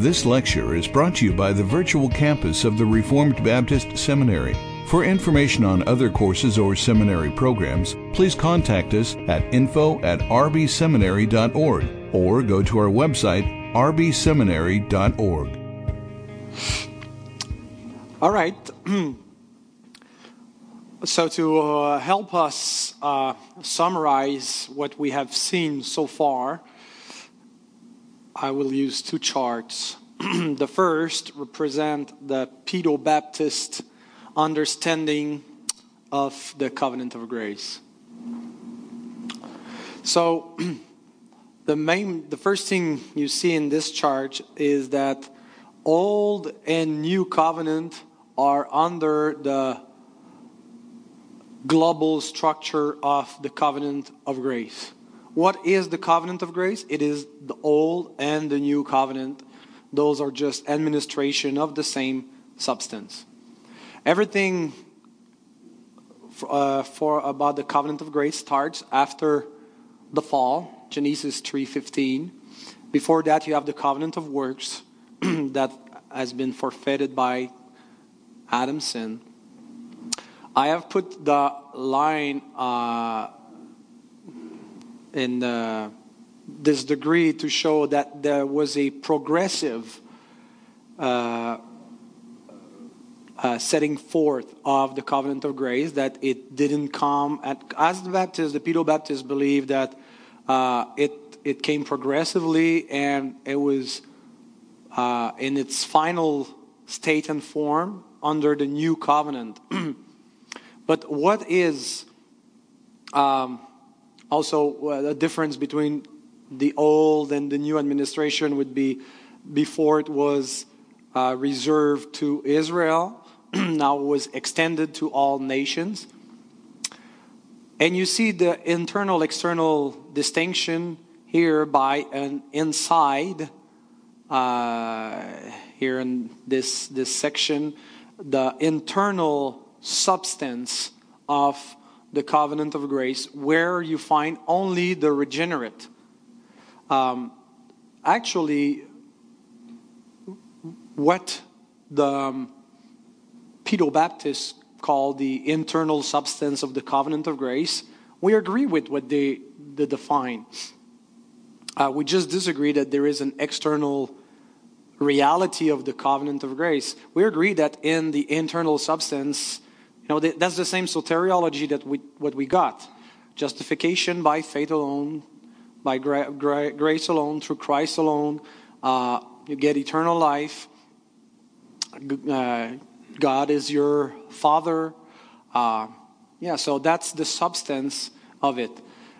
This lecture is brought to you by the virtual campus of the Reformed Baptist Seminary. For information on other courses or seminary programs, please contact us at info@rbseminary.org or go to our website, rbseminary.org. All right. So to help us summarize what we have seen so far, I will use two charts. The first represent the Pedo-Baptist understanding of the covenant of grace. So the first thing you see in this chart is that old and new covenant are under the global structure of the covenant of grace. What is the covenant of grace? It is the old and the new covenant. Those are just administration of the same substance. Everything about the covenant of grace starts after the fall, Genesis 3:15. Before that, you have the covenant of works that has been forfeited by Adam's sin. I have put the line in this degree to show that there was a progressive setting forth of the covenant of grace, that it didn't come as the Baptists, the Pedo-Baptists believe that it came progressively, and it was in its final state and form under the new covenant. But what is also the difference between the old and the new administration would be before it was reserved to Israel, now it was extended to all nations. And you see the internal-external distinction here by an inside, here in this section, the internal substance of the covenant of grace, where you find only the regenerate. Actually, what the Pedo-Baptists call the internal substance of the covenant of grace, we agree with what they define. We just disagree that there is an external reality of the covenant of grace. We agree that in the internal substance, that's the same soteriology that what we got. Justification by faith alone, by grace alone, through Christ alone. You get eternal life. God is your Father. So that's the substance of it.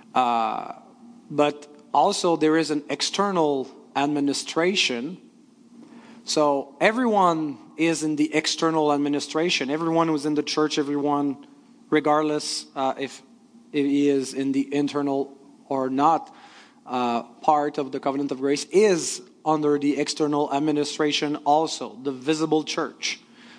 But also there is an external administration. So everyone is in the external administration. Everyone who's in the church, everyone, regardless if he is in the internal or not part of the covenant of grace, is under the external administration also, the visible church.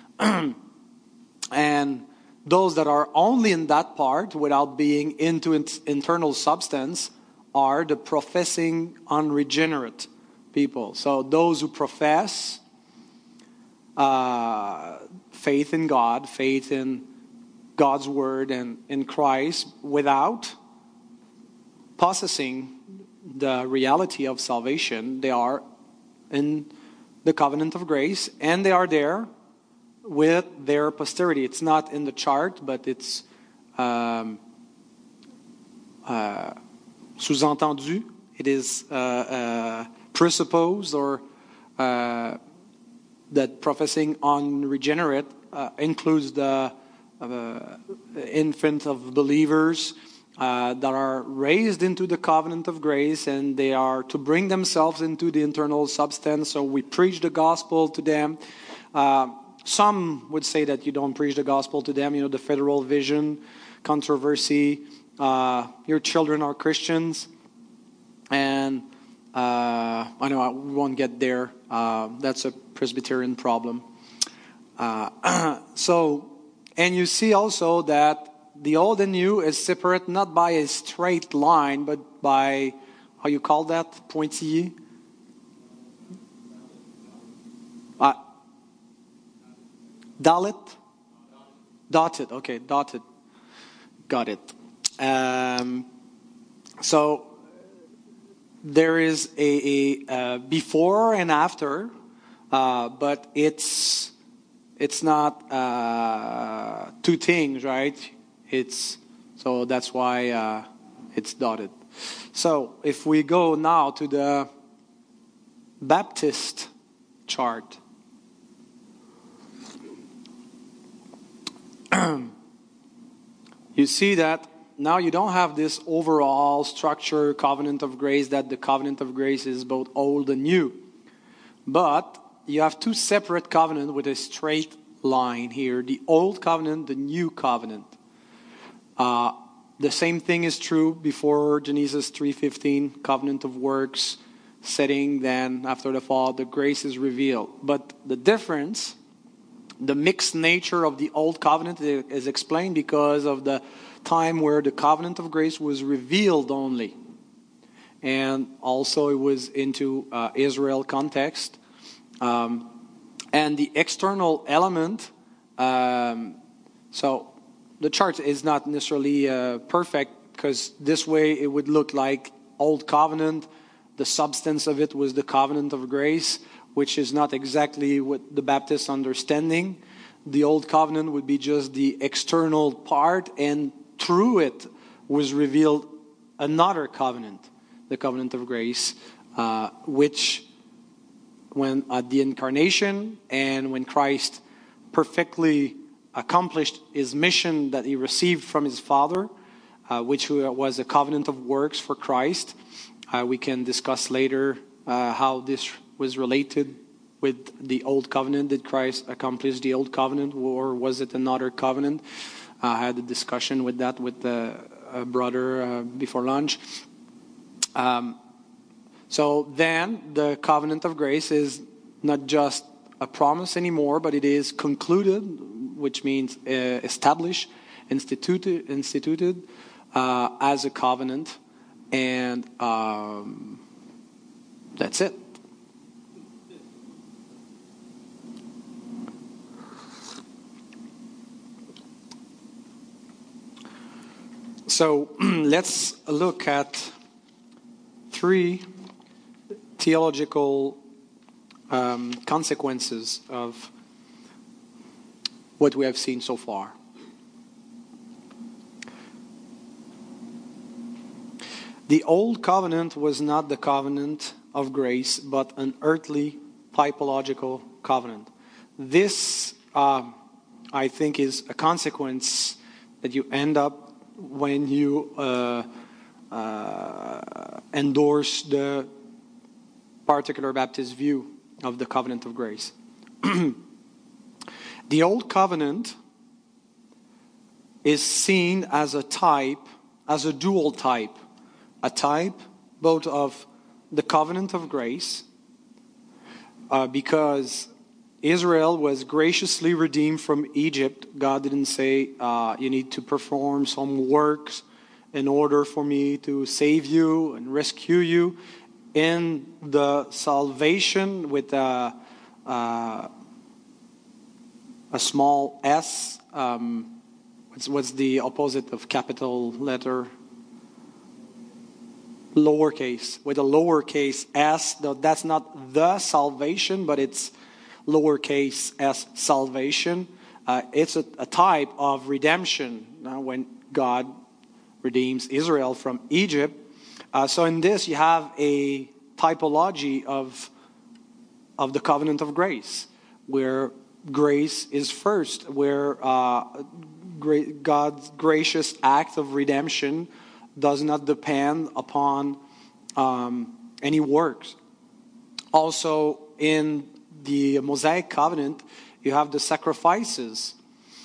And those that are only in that part without being into its internal substance are the professing unregenerate people. So those who profess faith in God, faith in God's word and in Christ without possessing the reality of salvation, they are in the covenant of grace, and they are there with their posterity. It's not in the chart, but it's sous-entendu. It is presupposed, or that professing unregenerate includes the infant of believers that are raised into the covenant of grace, and they are to bring themselves into the internal substance. So we preach the gospel to them. Some would say that you don't preach the gospel to them. The federal vision controversy. Your children are Christians, and I know we won't get there. That's a Presbyterian problem. And you see also that the old and new is separate not by a straight line, but by, how you call that, pointillé? Dalit? Dotted. Okay, dotted. Got it. So there is a before and after, but it's not two things, right? So that's why it's dotted. So if we go now to the Baptist chart, you see that now you don't have this overall structure, covenant of grace, that the covenant of grace is both old and new. But you have two separate covenants with a straight line here. The old covenant, the new covenant. The same thing is true before Genesis 3:15, covenant of works, setting, then after the fall, the grace is revealed. But the difference, the mixed nature of the old covenant is explained because of the time where the covenant of grace was revealed only. And also it was into Israel context. And the external element, so the chart is not necessarily perfect, because this way it would look like old covenant. The substance of it was the covenant of grace, which is not exactly what the Baptist understanding. The old covenant would be just the external part, and through it was revealed another covenant, the covenant of grace, which when at the incarnation and when Christ perfectly accomplished his mission that he received from his Father, which was a covenant of works for Christ. We can discuss later how this was related with the old covenant. Did Christ accomplish the old covenant, or was it another covenant? I had a discussion with that with the brother before lunch. So then the covenant of grace is not just a promise anymore, but it is concluded, which means established, instituted as a covenant, and that's it. So let's look at three theological consequences of what we have seen so far. The old covenant was not the covenant of grace, but an earthly typological covenant. This, I think, is a consequence that you end up when you endorse the particular Baptist view of the covenant of grace. The old covenant is seen as a type, as a dual type. A type both of the covenant of grace, because Israel was graciously redeemed from Egypt. God didn't say, you need to perform some works in order for me to save you and rescue you. In the salvation with a small s, what's the opposite of capital letter? Lowercase. With a lowercase s, that's not the salvation, but it's lowercase s salvation. It's a type of redemption when God redeems Israel from Egypt. So in this you have a typology of the covenant of grace, where grace is first, where God's gracious act of redemption does not depend upon any works. Also in the Mosaic covenant, you have the sacrifices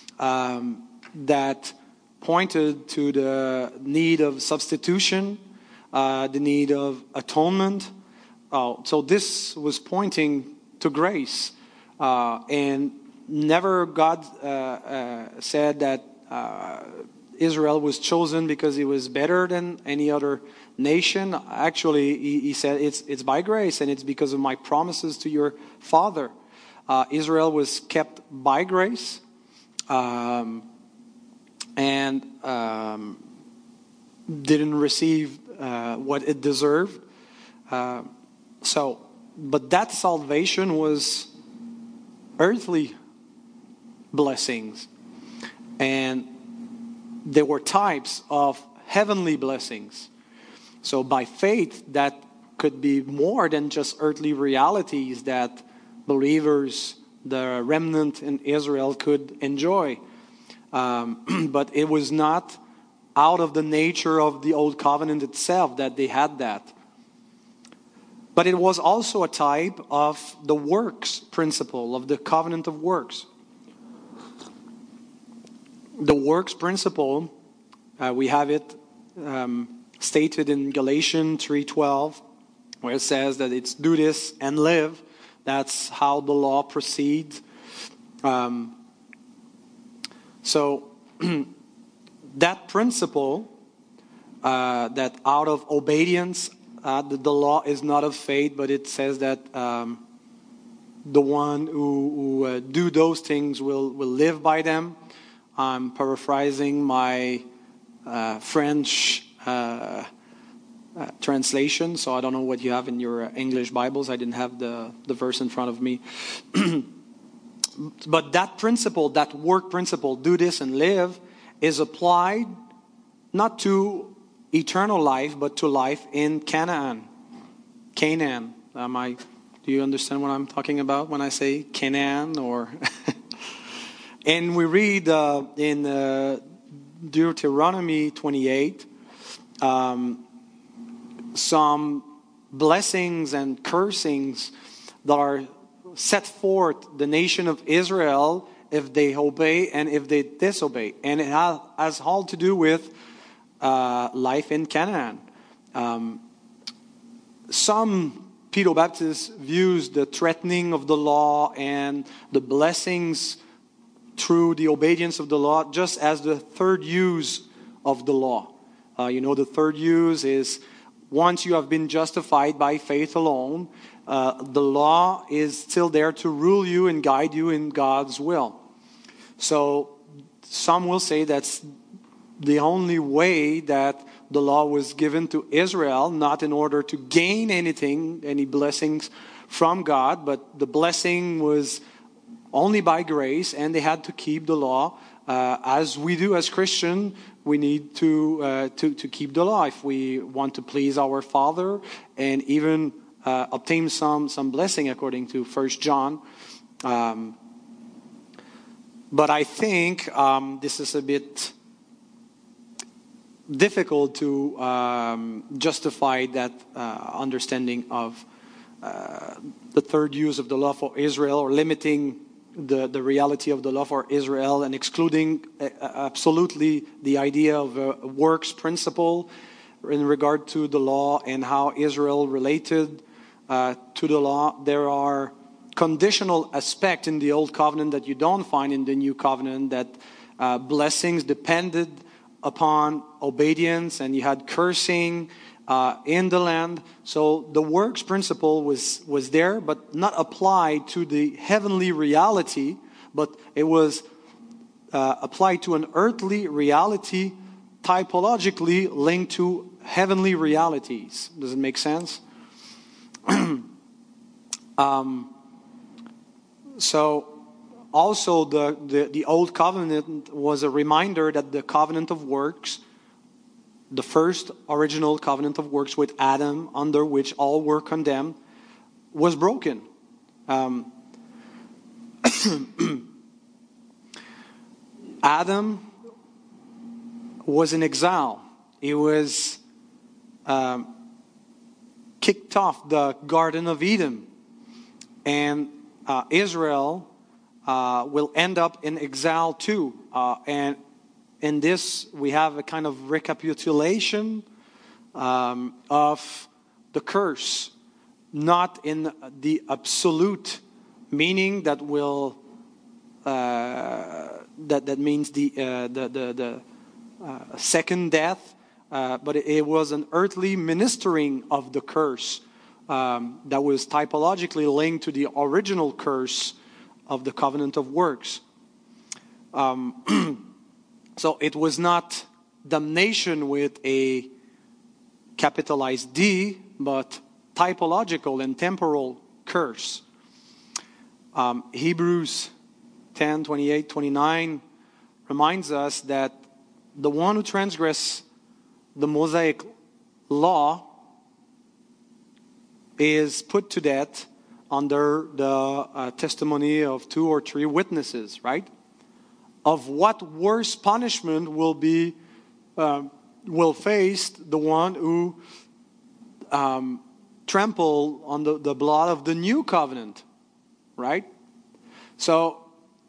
that pointed to the need of substitution, the need of atonement. So this was pointing to grace. And never God said that Israel was chosen because he was better than any other nation. Actually, he said it's by grace and it's because of my promises to your father. Israel was kept by grace, and didn't receive what it deserved. But that salvation was earthly blessings, and there were types of heavenly blessings. So by faith, that could be more than just earthly realities that believers, the remnant in Israel, could enjoy. But it was not out of the nature of the old covenant itself that they had that. But it was also a type of the works principle, of the covenant of works. The works principle, we have it stated in Galatians 3:12, where it says that it's do this and live. That's how the law proceeds. So that principle, that out of obedience, the law is not of faith, but it says that the one who do those things will live by them. I'm paraphrasing my French translation, so I don't know what you have in your English Bibles. I didn't have the verse in front of me. But that principle, that work principle, do this and live, is applied not to eternal life, but to life in Canaan. Canaan. Do you understand what I'm talking about when I say Canaan? Or and we read in Deuteronomy 28 some blessings and cursings that are set forth the nation of Israel if they obey and if they disobey. And it has all to do with life in Canaan. Some Pedo-Baptists views the threatening of the law and the blessings through the obedience of the law just as the third use of the law. The third use is once you have been justified by faith alone, the law is still there to rule you and guide you in God's will. So some will say that's the only way that the law was given to Israel, not in order to gain anything, any blessings from God, but the blessing was only by grace, and they had to keep the law. As we do as Christians, we need to keep the law if we want to please our Father and even obtain some blessing according to 1 John. But I think this is a bit difficult to justify that understanding of the third use of the law for Israel, or limiting the reality of the law for Israel and excluding absolutely the idea of a works principle in regard to the law and how Israel related to the law. There are conditional aspects in the Old Covenant that you don't find in the New Covenant, that blessings depended upon obedience, and you had cursing in the land. So the works principle was there, but not applied to the heavenly reality, but it was applied to an earthly reality, typologically linked to heavenly realities. Does it make sense? So also the Old Covenant was a reminder that the covenant of works, the first original covenant of works with Adam, under which all were condemned, was broken. Adam was in exile. He was kicked off the Garden of Eden. And Israel will end up in exile too. And in this, we have a kind of recapitulation of the curse, not in the absolute meaning that will that means the second death, but it was an earthly ministering of the curse that was typologically linked to the original curse of the covenant of works. So it was not damnation with a capitalized D, but typological and temporal curse. Hebrews 10, 28, 29 reminds us that the one who transgresses the Mosaic law is put to death under the testimony of 2 or 3 witnesses, right? Of what worse punishment will face the one who trample on the blood of the new covenant, right? So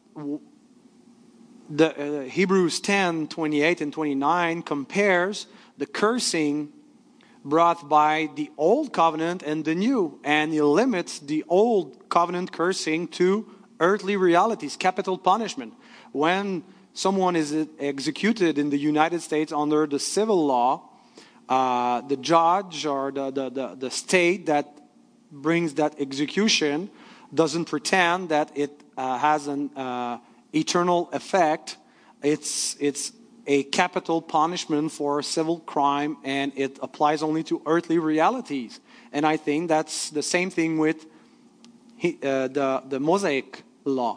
the Hebrews 10, 28 and 29 compares the cursing brought by the old covenant and the new, and he limits the old covenant cursing to earthly realities, capital punishment. When someone is executed in the United States under the civil law, the judge or the state that brings that execution doesn't pretend that it has an eternal effect. It's a capital punishment for a civil crime, and it applies only to earthly realities. And I think that's the same thing with the Mosaic law.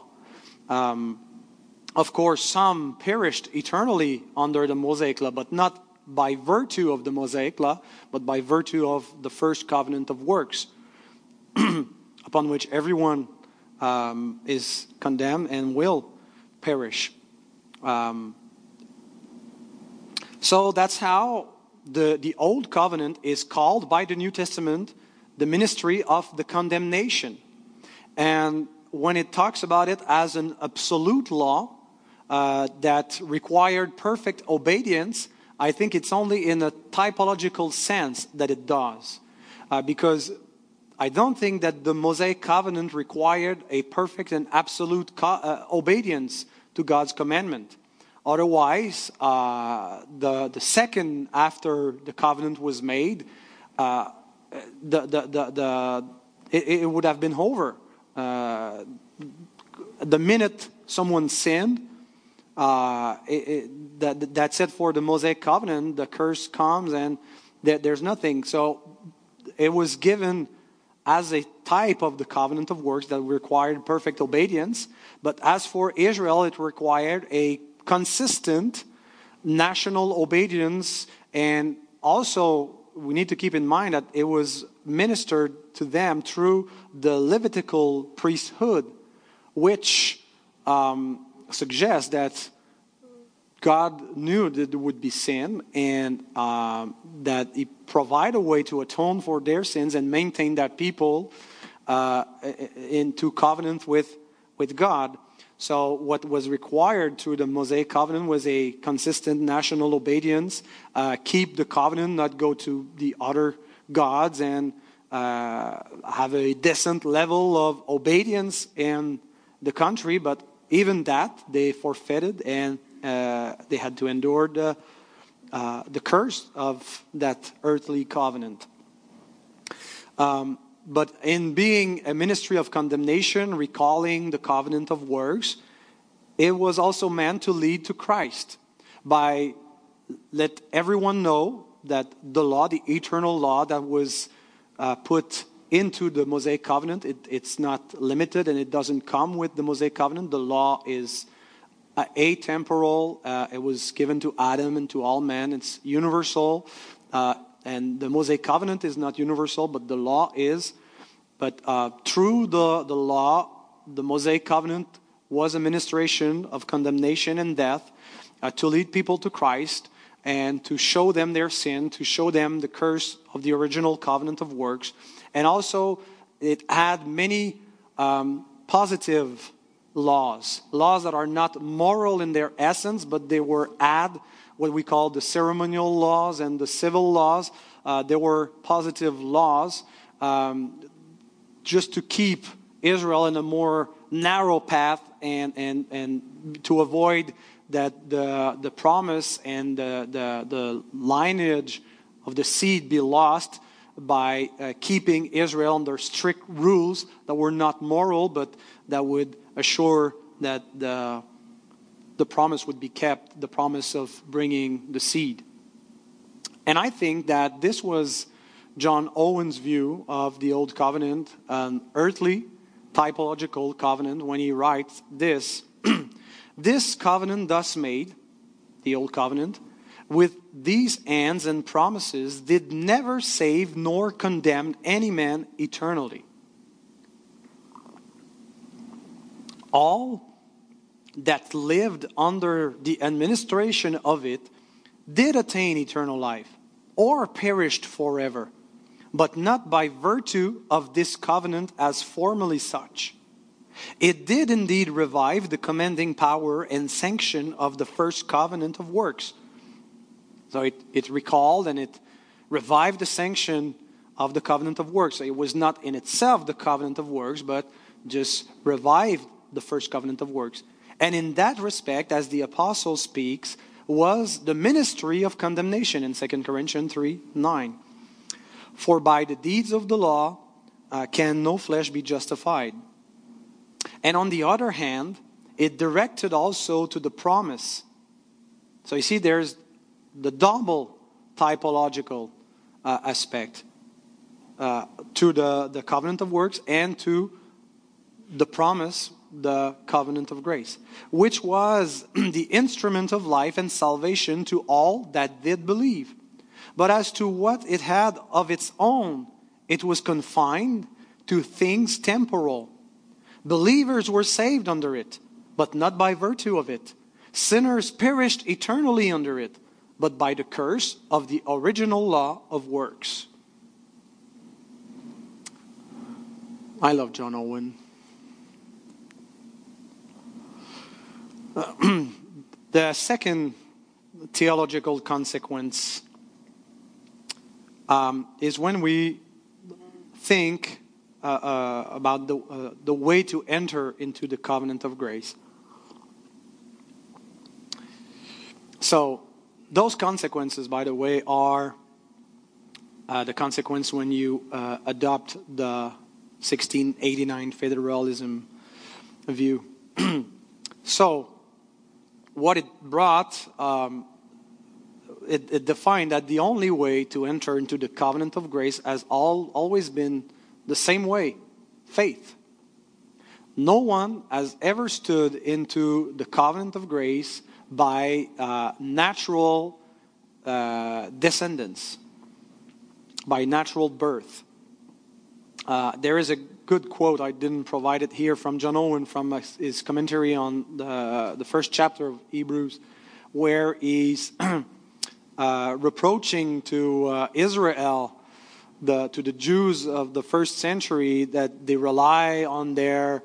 Of course, some perished eternally under the Mosaic law, but not by virtue of the Mosaic law, but by virtue of the first covenant of works, upon which everyone is condemned and will perish. So that's how the Old Covenant is called by the New Testament the ministry of the condemnation. And when it talks about it as an absolute law that required perfect obedience, I think it's only in a typological sense that it does. Because I don't think that the Mosaic covenant required a perfect and absolute obedience to God's commandment. Otherwise, the second after the covenant was made, it would have been over. The minute someone sinned, that's it for the Mosaic covenant. The curse comes and there's nothing. So it was given as a type of the covenant of works that required perfect obedience. But as for Israel, it required a consistent national obedience. And also, we need to keep in mind that it was ministered to them through the Levitical priesthood, which suggests that God knew that there would be sin, and that He provided a way to atone for their sins and maintain that people into covenant with God. So what was required through the Mosaic covenant was a consistent national obedience, keep the covenant, not go to the other gods, and have a decent level of obedience in the country. But even that, they forfeited, and they had to endure the curse of that earthly covenant. But in being a ministry of condemnation, recalling the covenant of works, it was also meant to lead to Christ by let everyone know that the law, the eternal law that was put into the Mosaic covenant, it's not limited and it doesn't come with the Mosaic covenant. The law is atemporal. It was given to Adam and to all men. It's universal. And the Mosaic covenant is not universal, but the law is. But through the law, the Mosaic covenant was a ministration of condemnation and death to lead people to Christ and to show them their sin, to show them the curse of the original covenant of works. And also, it had many positive laws that are not moral in their essence, but they were what we call the ceremonial laws and the civil laws. There were positive laws just to keep Israel in a more narrow path and to avoid that the promise and the lineage of the seed be lost by keeping Israel under strict rules that were not moral, but that would assure that the promise would be kept, the promise of bringing the seed. And I think that this was John Owen's view of the Old Covenant, an earthly typological covenant, when he writes this: "This covenant thus made," the Old Covenant, "with these ends and promises did never save nor condemn any man eternally. All that lived under the administration of it did attain eternal life, or perished forever, but not by virtue of this covenant as formerly such. It did indeed revive the commending power and sanction of the first covenant of works." So it recalled and it revived the sanction of the covenant of works. So it was not in itself the covenant of works, but just revived the first covenant of works. And in that respect, as the apostle speaks, was the ministry of condemnation in 2 Corinthians 3:9. "For by the deeds of the law can no flesh be justified." And on the other hand, it directed also to the promise. So you see, there's the double typological aspect to the covenant of works and to the promise, the covenant of grace, which was the instrument of life and salvation to all that did believe. But as to what it had of its own, it was confined to things temporal. Believers were saved under it, but not by virtue of it. Sinners perished eternally under it, but by the curse of the original law of works. I love John Owen. The second theological consequence is when we think about the way to enter into the covenant of grace. So those consequences, by the way, are the consequence when you adopt the 1689 federalism view. So what it brought, it defined that the only way to enter into the covenant of grace has always been the same way: faith. No one has ever stood into the covenant of grace by natural descendants, by natural birth. There is a good quote, I didn't provide it here, from John Owen from his commentary on the first chapter of Hebrews, where he's reproaching to Israel, to the Jews of the first century, that they rely on their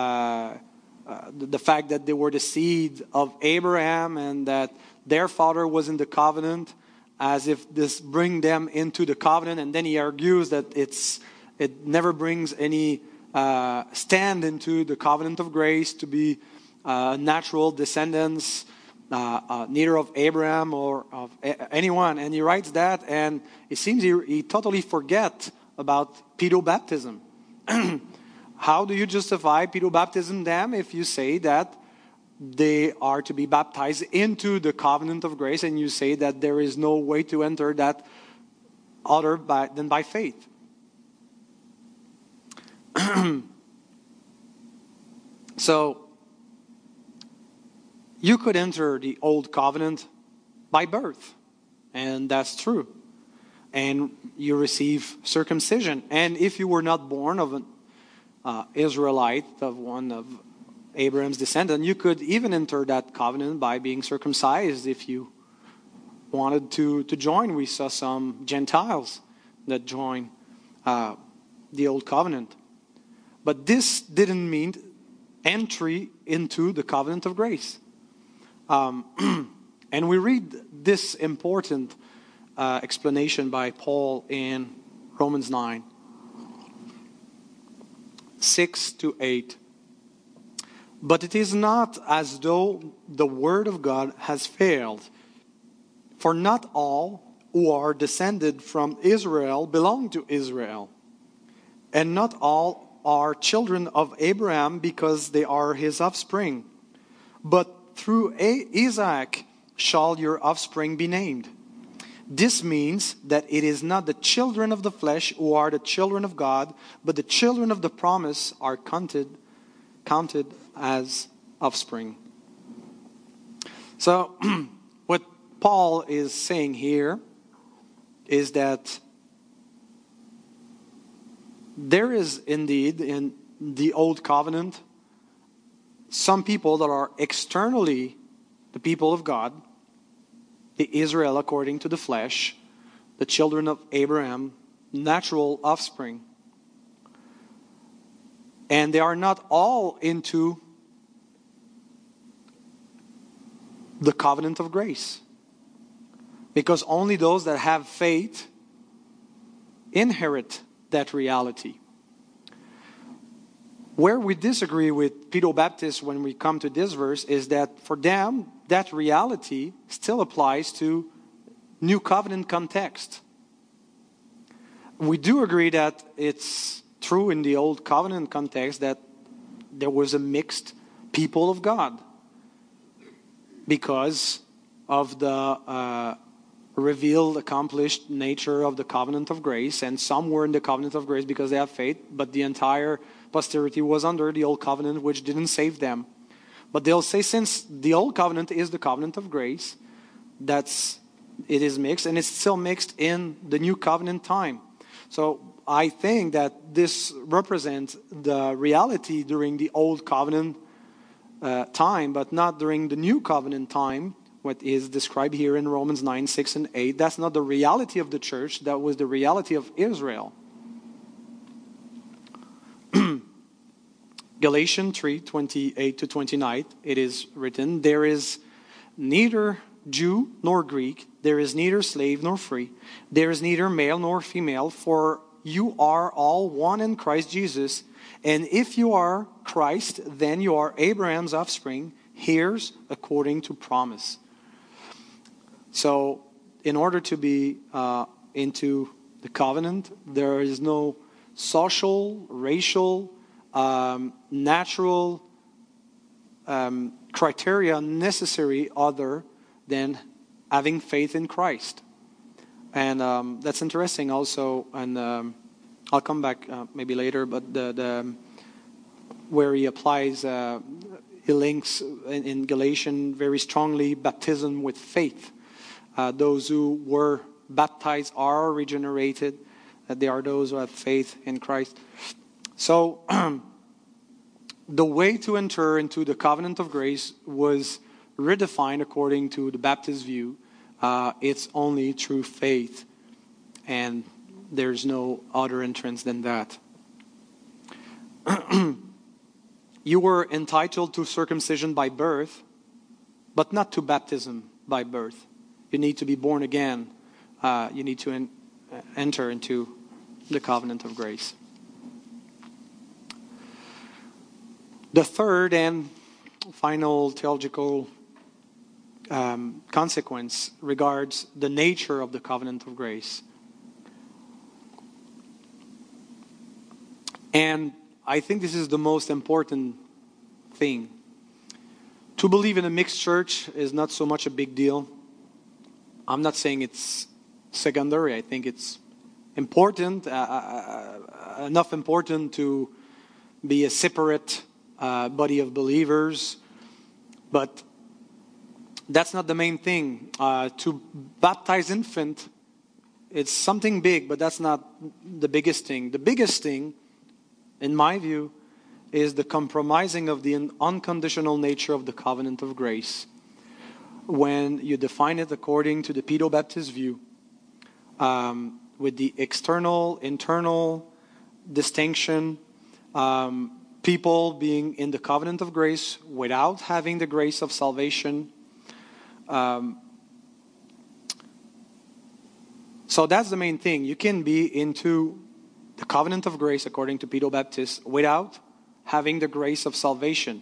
the fact that they were the seed of Abraham and that their father was in the covenant, as if this bring them into the covenant. And then he argues that it never brings any stand into the covenant of grace to be natural descendants, neither of Abraham or of anyone. And he writes that, and it seems he totally forget about pedobaptism. How do you justify pedobaptism then if you say that they are to be baptized into the covenant of grace, and you say that there is no way to enter that other than by faith? So you could enter the old covenant by birth, and that's true. And you receive circumcision. And if you were not born of an Israelite, of one of Abraham's descendant, you could even enter that covenant by being circumcised if you wanted to join. We saw some Gentiles that joined the old covenant. But this didn't mean entry into the covenant of grace. And we read this important explanation by Paul in Romans 9, 6-8. But it is not as though the word of God has failed. For not all who are descended from Israel belong to Israel. And not all are children of Abraham because they are his offspring. But through Isaac shall your offspring be named. This means that it is not the children of the flesh who are the children of God, but the children of the promise are counted as offspring. So, what Paul is saying here is that there is indeed in the Old Covenant some people that are externally the people of God, the Israel according to the flesh, the children of Abraham, natural offspring. And they are not all into the covenant of grace. Because only those that have faith inherit that reality. Where we disagree with Pedro-Baptists when we come to this verse is that for them, that reality still applies to New Covenant context. We do agree that it's true in the Old Covenant context that there was a mixed people of God because of the revealed, accomplished nature of the covenant of grace. And some were in the covenant of grace because they have faith, but the entire posterity was under the old covenant, which didn't save them. But they'll say, since the old covenant is the covenant of grace, it is mixed, and it's still mixed in the new covenant time. So I think that this represents the reality during the old covenant time, but not during the new covenant time, what is described here in Romans 9, 6, and 8. That's not the reality of the church. That was the reality of Israel. Galatians 3, 28 to 29, it is written, there is neither Jew nor Greek, there is neither slave nor free, there is neither male nor female, for you are all one in Christ Jesus. And if you are Christ, then you are Abraham's offspring, heirs according to promise. So, in order to be into the covenant, there is no social, racial, natural criteria necessary other than having faith in Christ. And that's interesting also, and I'll come back maybe later, but the where he applies, he links in Galatians very strongly baptism with faith. Those who were baptized are regenerated. They are those who have faith in Christ. So, the way to enter into the covenant of grace was redefined according to the Baptist view. It's only through faith, and there's no other entrance than that. You were entitled to circumcision by birth, but not to baptism by birth. You need to be born again. You need to enter into the covenant of grace. The third and final theological consequence regards the nature of the covenant of grace. And I think this is the most important thing. To believe in a mixed church is not so much a big deal. I'm not saying it's secondary. I think it's important, enough important to be a separate body of believers. But that's not the main thing. To baptize infant, it's something big, but that's not the biggest thing. The biggest thing, in my view, is the compromising of the unconditional nature of the covenant of grace. When you define it according to the Pedro-Baptist view, with the external, internal distinction, people being in the covenant of grace without having the grace of salvation. So that's the main thing. You can be into the covenant of grace according to Pedro-Baptist without having the grace of salvation.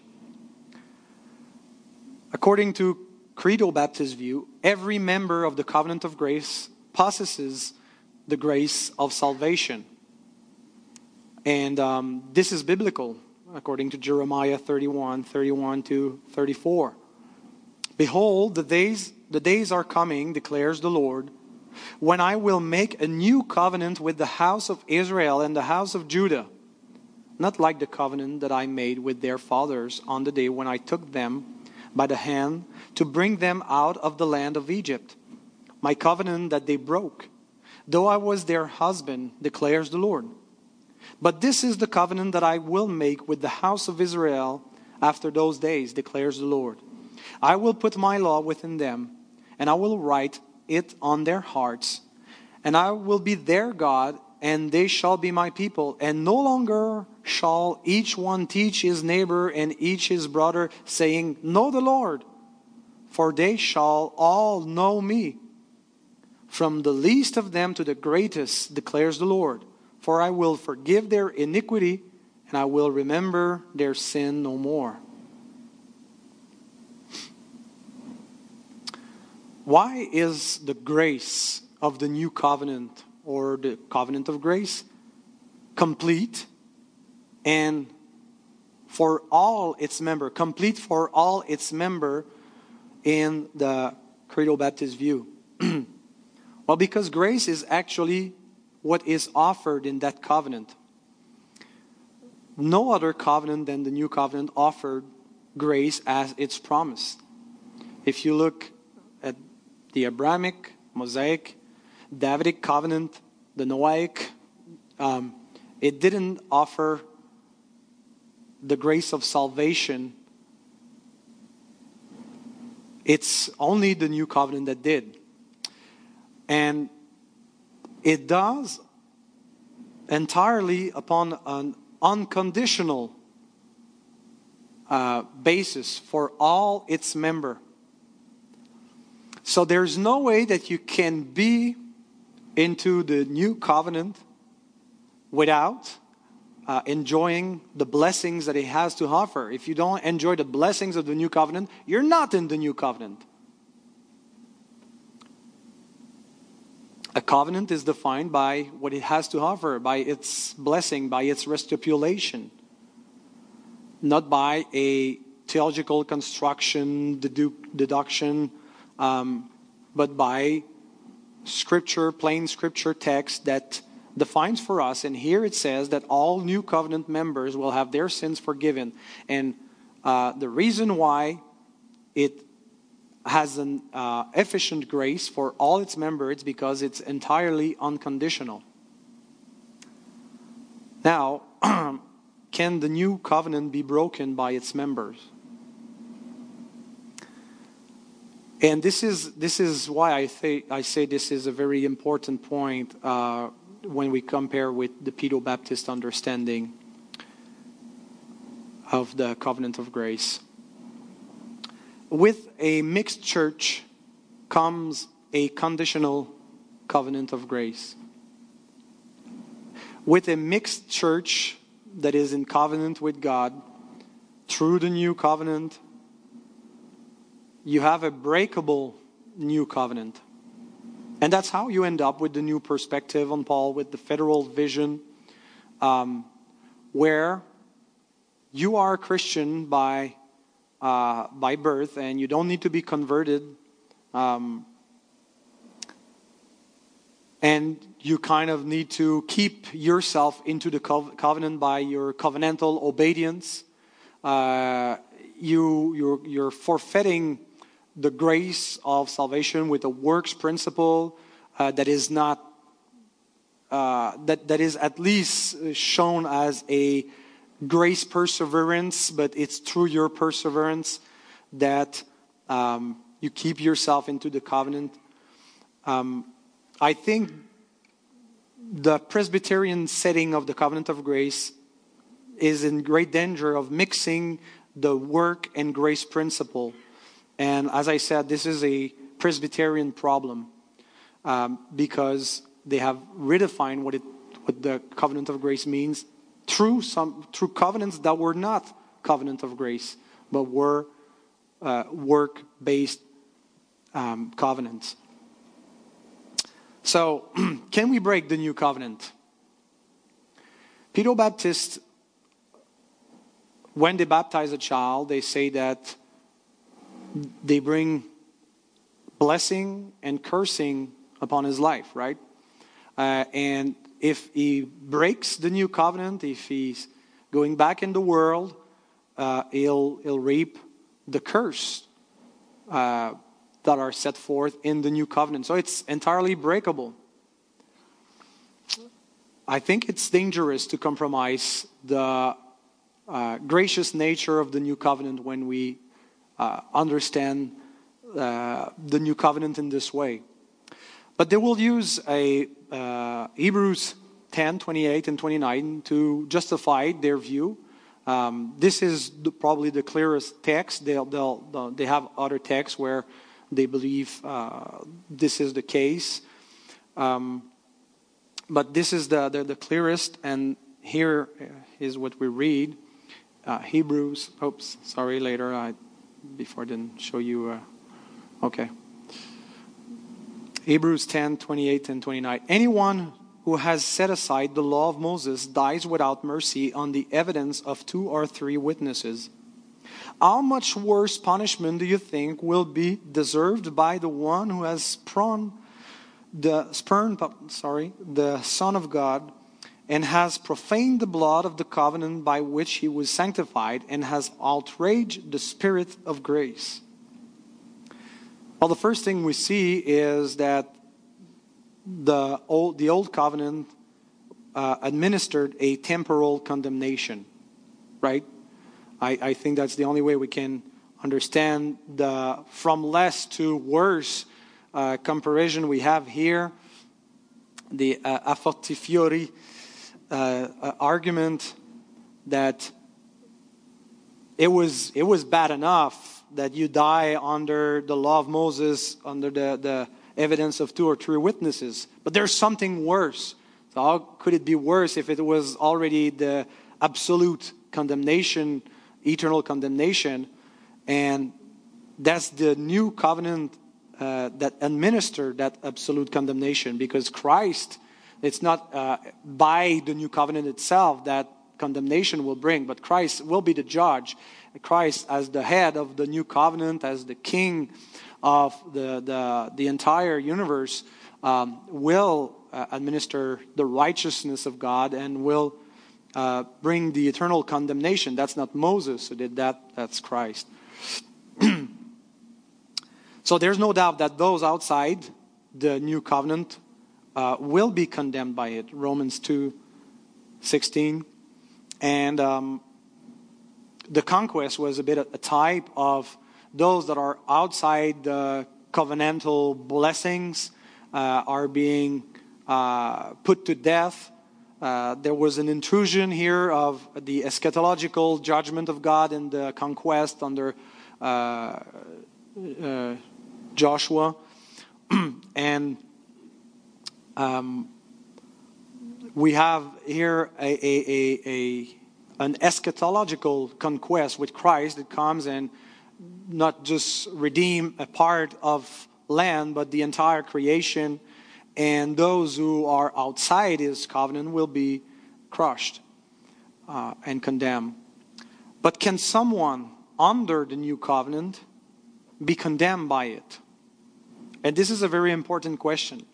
According to Credo Baptist view, every member of the covenant of grace possesses the grace of salvation. And this is biblical, according to Jeremiah 31 to 34. Behold, the days are coming, declares the Lord, when I will make a new covenant with the house of Israel and the house of Judah, not like the covenant that I made with their fathers on the day when I took them by the hand to bring them out of the land of Egypt, my covenant that they broke, though I was their husband, declares the Lord. But this is the covenant that I will make with the house of Israel after those days, declares the Lord. I will put my law within them, and I will write it on their hearts, and I will be their God, and they shall be my people. And no longer shall each one teach his neighbor and each his brother, saying, Know the Lord, for they shall all know me, from the least of them to the greatest, declares the Lord. For I will forgive their iniquity, and I will remember their sin no more. Why is the grace of the new covenant, or the covenant of grace, complete and for all its members, complete for all its members in the Credo Baptist view? Well, because grace is actually what is offered in that covenant. No other covenant than the new covenant offered grace as it's promised. If you look at the Abrahamic, Mosaic, Davidic covenant, the Noahic, it didn't offer the grace of salvation. It's only the new covenant that did. And it does entirely upon an unconditional basis for all its members. So there's no way that you can be into the new covenant without enjoying the blessings that it has to offer. If you don't enjoy the blessings of the new covenant, you're not in the new covenant. A covenant is defined by what it has to offer, by its blessing, by its restipulation, not by a theological construction, deduction, but by Scripture, plain Scripture text that defines for us. And here it says that all new covenant members will have their sins forgiven. And the reason why it has an efficient grace for all its members is because it's entirely unconditional. Now, can the new covenant be broken by its members? And this is why I say this is a very important point when we compare with the Pedo-Baptist understanding of the covenant of grace. With a mixed church comes a conditional covenant of grace. With a mixed church that is in covenant with God through the new covenant, you have a breakable new covenant. And that's how you end up with the new perspective on Paul, with the federal vision, where you are a Christian by birth and you don't need to be converted. And you kind of need to keep yourself into the covenant by your covenantal obedience. You're forfeiting the grace of salvation with a works principle that is not that is at least shown as a grace perseverance, but it's through your perseverance that you keep yourself into the covenant. I think the Presbyterian setting of the covenant of grace is in great danger of mixing the work and grace principle. And as I said, this is a Presbyterian problem because they have redefined what the covenant of grace means through covenants that were not covenant of grace, but were work-based covenants. So, can we break the new covenant? Pedro-Baptists, when they baptize a child, they say that they bring blessing and cursing upon his life, right? And if he breaks the new covenant, if he's going back in the world, he'll reap the curse that are set forth in the new covenant. So it's entirely breakable. I think it's dangerous to compromise the gracious nature of the new covenant when we understand the new covenant in this way. But they will use Hebrews 10, 28 and 29 to justify their view. This is probably the clearest text. They have other texts where they believe this is the case. But this is the clearest, and here is what we read. Hebrews, before I didn't show you, okay. Hebrews 10, 28 and 29. Anyone who has set aside the law of Moses dies without mercy on the evidence of 2 or 3 witnesses. How much worse punishment do you think will be deserved by the one who has spurned the Son of God and has profaned the blood of the covenant by which he was sanctified and has outraged the Spirit of grace? Well, the first thing we see is that the old covenant administered a temporal condemnation, right? I think that's the only way we can understand the from less to worse comparison we have here. The a fortiori argument that it was bad enough that you die under the law of Moses, under the evidence of 2 or 3 witnesses. But there's something worse. So how could it be worse if it was already the absolute condemnation, eternal condemnation? And that's the new covenant that administered that absolute condemnation, because Christ, it's not by the new covenant itself that condemnation will bring, but Christ will be the judge. Christ, as the head of the new covenant, as the king of the entire universe, will administer the righteousness of God and will bring the eternal condemnation. That's not Moses who did that, that's Christ. So there's no doubt that those outside the new covenant will be condemned by it. Romans 2:16. And the conquest was a bit a type of those that are outside the covenantal blessings are being put to death. There was an intrusion here of the eschatological judgment of God in the conquest under Joshua. And we have here an eschatological conquest with Christ that comes and not just redeem a part of land, but the entire creation. And those who are outside his covenant will be crushed and condemned. But can someone under the new covenant be condemned by it? And this is a very important question.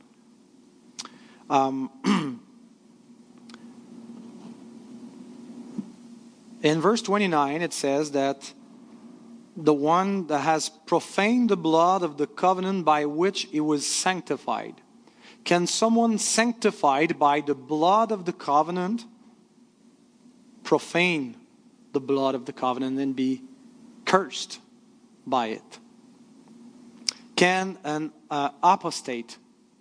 In verse 29, it says that the one that has profaned the blood of the covenant by which it was sanctified. Can someone sanctified by the blood of the covenant profane the blood of the covenant and be cursed by it? Can an apostate,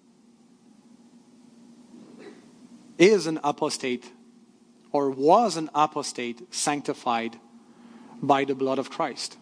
is an apostate, or was an apostate sanctified by the blood of Christ?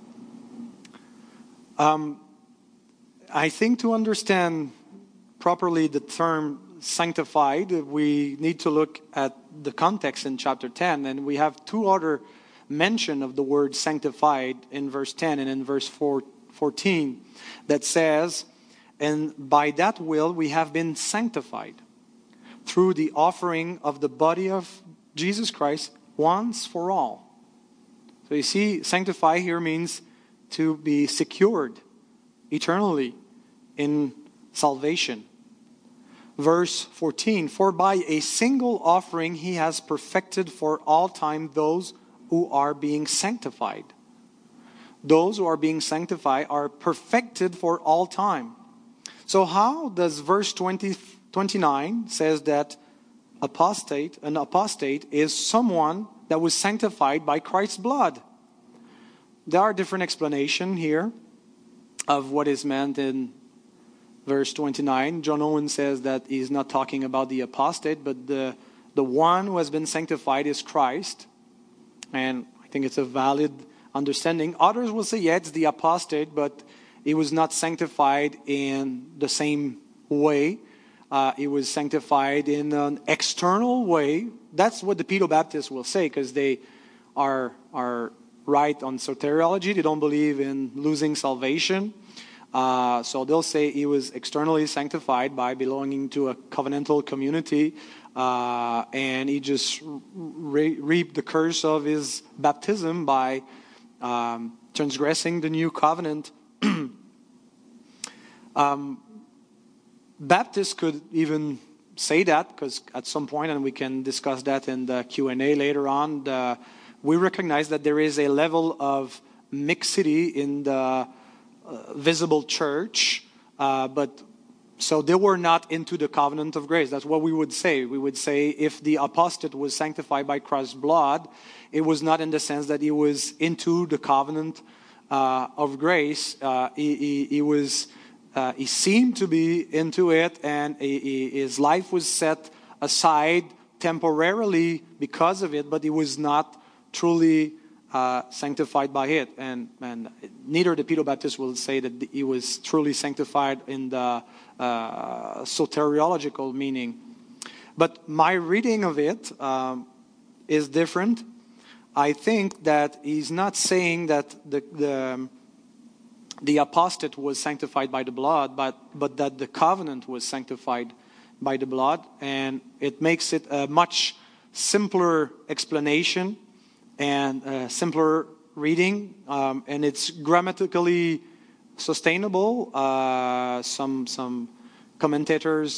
I think to understand properly the term sanctified, we need to look at the context in chapter 10. And we have 2 other mention of the word sanctified in verse 10 and in verse 14 that says, And by that will, we have been sanctified through the offering of the body of Jesus Christ once for all. So you see, sanctify here means to be secured eternally in salvation. Verse 14, for by a single offering he has perfected for all time those who are being sanctified. Those who are being sanctified are perfected for all time. So how does verse 29 says that an apostate is someone that was sanctified by Christ's blood? There are different explanations here of what is meant in verse 29. John Owen says that he's not talking about the apostate, but the one who has been sanctified is Christ. And I think it's a valid understanding. Others will say, yeah, it's the apostate, but he was not sanctified in the same way. He was sanctified in an external way. That's what the Pedobaptists will say, because they are right on soteriology. They don't believe in losing salvation. So they'll say he was externally sanctified by belonging to a covenantal community, and he just reaped the curse of his baptism by transgressing the new covenant. Baptists could even say that, because at some point, and we can discuss that in the Q&A later on, we recognize that there is a level of mixity in the visible church, but so they were not into the covenant of grace. That's what we would say. We would say if the apostate was sanctified by Christ's blood, it was not in the sense that he was into the covenant of grace. He seemed to be into it, and his life was set aside temporarily because of it, but he was not truly sanctified by it. And neither the Pedobaptists will say that he was truly sanctified in the soteriological meaning. But my reading of it is different. I think that he's not saying that the apostate was sanctified by the blood, but that the covenant was sanctified by the blood. And it makes it a much simpler explanation and a simpler reading, and it's grammatically sustainable. Some commentators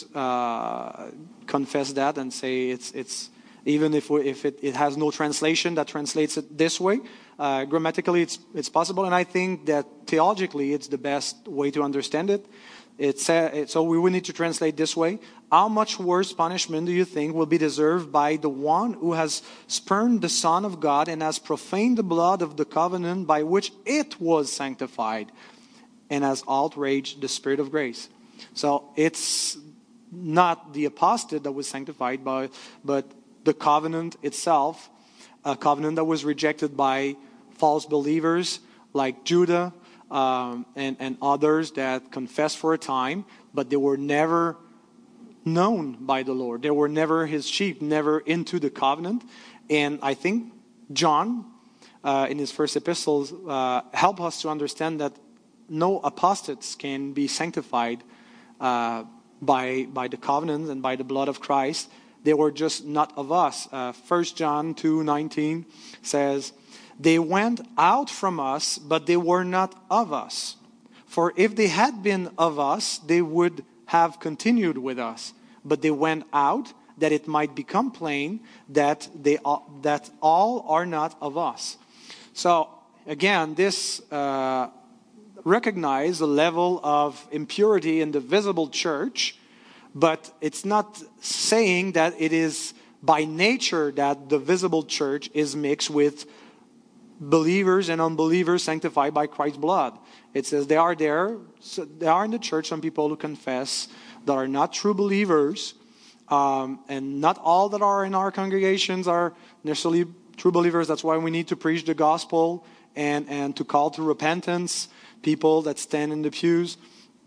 confess that and say it's even if it has no translation that translates it this way. Grammatically, it's possible, and I think that theologically, it's the best way to understand it. So we will need to translate this way. How much worse punishment do you think will be deserved by the one who has spurned the Son of God and has profaned the blood of the covenant by which it was sanctified and has outraged the Spirit of grace? So it's not the apostate that was sanctified, but the covenant itself, a covenant that was rejected by false believers like Judah, and others that confessed for a time, but they were never known by the Lord. They were never his sheep, never into the covenant. And I think John, in his first epistles, help us to understand that no apostates can be sanctified by the covenant and by the blood of Christ. They were just not of us. 1 John 2:19 says, they went out from us, but they were not of us. For if they had been of us, they would have continued with us. But they went out, that it might become plain that all are not of us. So again, this recognizes the level of impurity in the visible church, but it's not saying that it is by nature that the visible church is mixed with believers and unbelievers sanctified by Christ's blood. It says they are there. So there are in the church some people who confess that are not true believers, and not all that are in our congregations are necessarily true believers. That's why we need to preach the gospel and to call to repentance people that stand in the pews.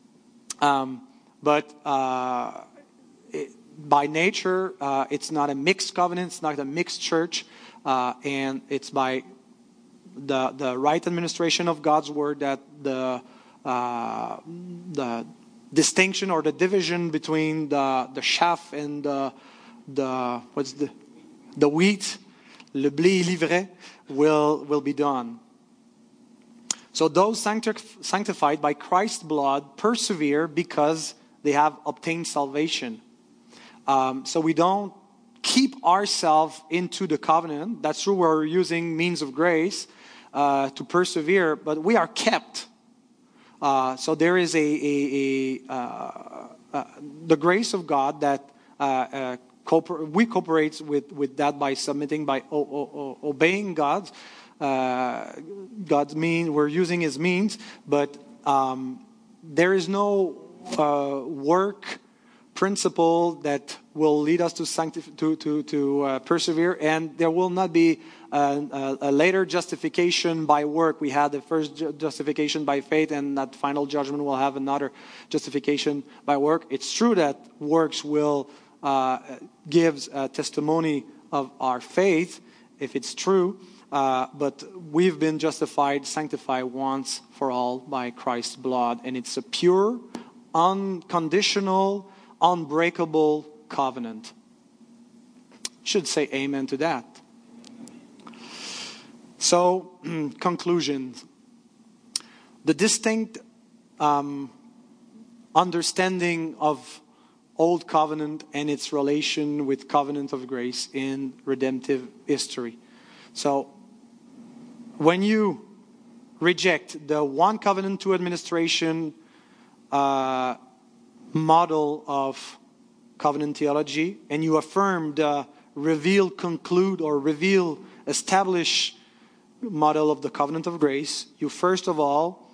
But by nature, it's not a mixed covenant. It's not a mixed church, and it's by the right administration of God's word that the distinction or the division between the chaff and the wheat, le blé et l'ivraie, will be done. So those sanctified by Christ's blood persevere because they have obtained salvation. So we don't keep ourselves into the covenant. That's true, we're using means of grace to persevere, but we are kept. So there is the grace of God that we cooperate with that by submitting, by obeying God's means. We're using His means, but there is no work principle that will lead us to persevere, and there will not be a later justification by work. We had the first justification by faith, and that final judgment will have another justification by work. It's true that works will give testimony of our faith, if it's true, but we've been justified, sanctified once for all by Christ's blood, and it's a pure, unconditional, unbreakable covenant. Should say amen to that. So, conclusions. The distinct understanding of Old Covenant and its relation with Covenant of Grace in redemptive history. So, when you reject the one covenant, two administration model of covenant theology, and you affirm the reveal, conclude, or reveal, establish model of the covenant of grace, you first of all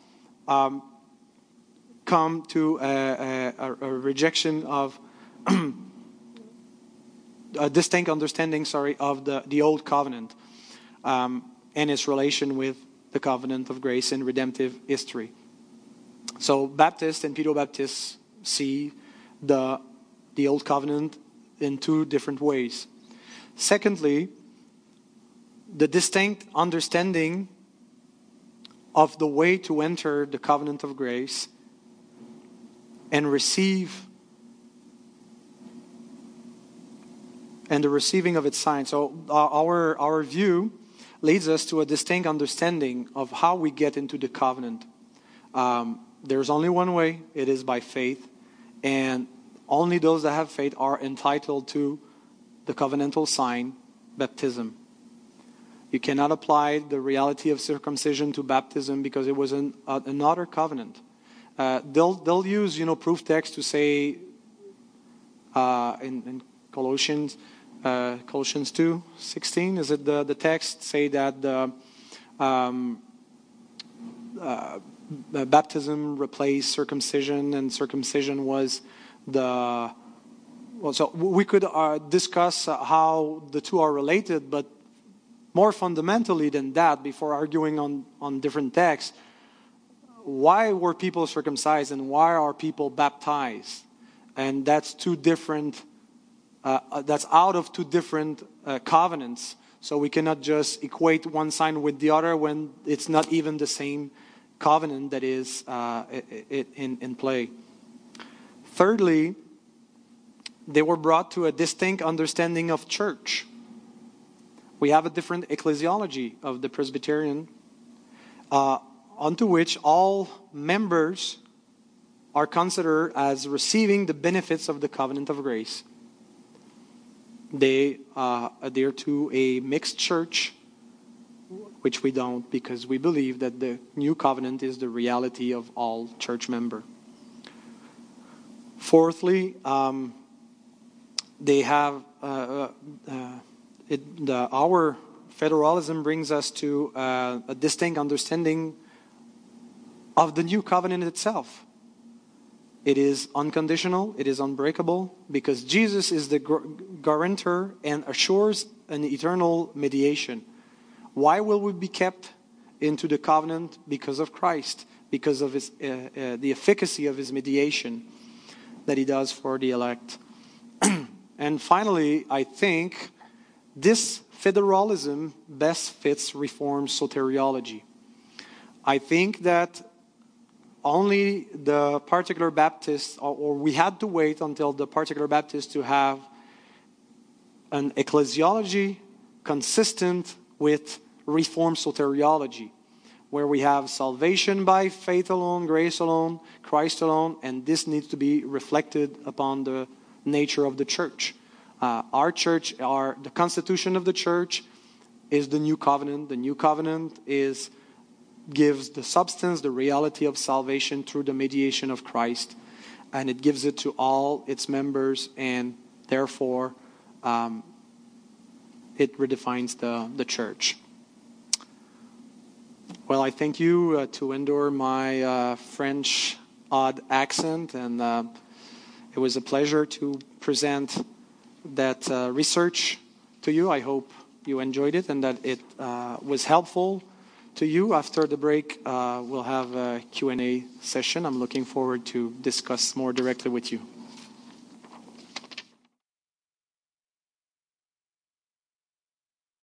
come to a rejection of a distinct understanding, of the old covenant and its relation with the covenant of grace in redemptive history. So Baptists and Pedo-Baptists see the old covenant in two different ways. Secondly, the distinct understanding of the way to enter the covenant of grace and receive, and the receiving of its sign. So our view leads us to a distinct understanding of how we get into the covenant. There's only one way, it is by faith, and only those that have faith are entitled to the covenantal sign, baptism. You cannot apply the reality of circumcision to baptism because it was another covenant. They'll use proof text to say in Colossians 2:16, is it the text say that the baptism replaced circumcision, and circumcision was so we could discuss how the two are related, but more fundamentally than that, before arguing on different texts, why were people circumcised and why are people baptized? And that's two different, that's out of two different covenants. So we cannot just equate one sign with the other when it's not even the same covenant that is in play. Thirdly, they were brought to a distinct understanding of church. We have a different ecclesiology of the Presbyterian, unto which all members are considered as receiving the benefits of the covenant of grace. They adhere to a mixed church, which we don't, because we believe that the new covenant is the reality of all church members. Fourthly, they have our federalism brings us to a distinct understanding of the new covenant itself. It is unconditional, it is unbreakable, because Jesus is the guarantor and assures an eternal mediation. Why will we be kept into the covenant? Because of Christ, because of his, the efficacy of his mediation that he does for the elect. And finally, I think this federalism best fits Reformed soteriology. I think that only the particular Baptists, or we had to wait until the particular Baptists to have an ecclesiology consistent with Reformed soteriology, where we have salvation by faith alone, grace alone, Christ alone, and this needs to be reflected upon the nature of the church. Our church, the constitution of the church is the New Covenant. The New Covenant gives the substance, the reality of salvation through the mediation of Christ, and it gives it to all its members, and therefore it redefines the church. Well, I thank you to endure my French odd accent, and it was a pleasure to present that research to you. I hope you enjoyed it and that it was helpful to you. After the break, we'll have a Q&A session. I'm looking forward to discuss more directly with you.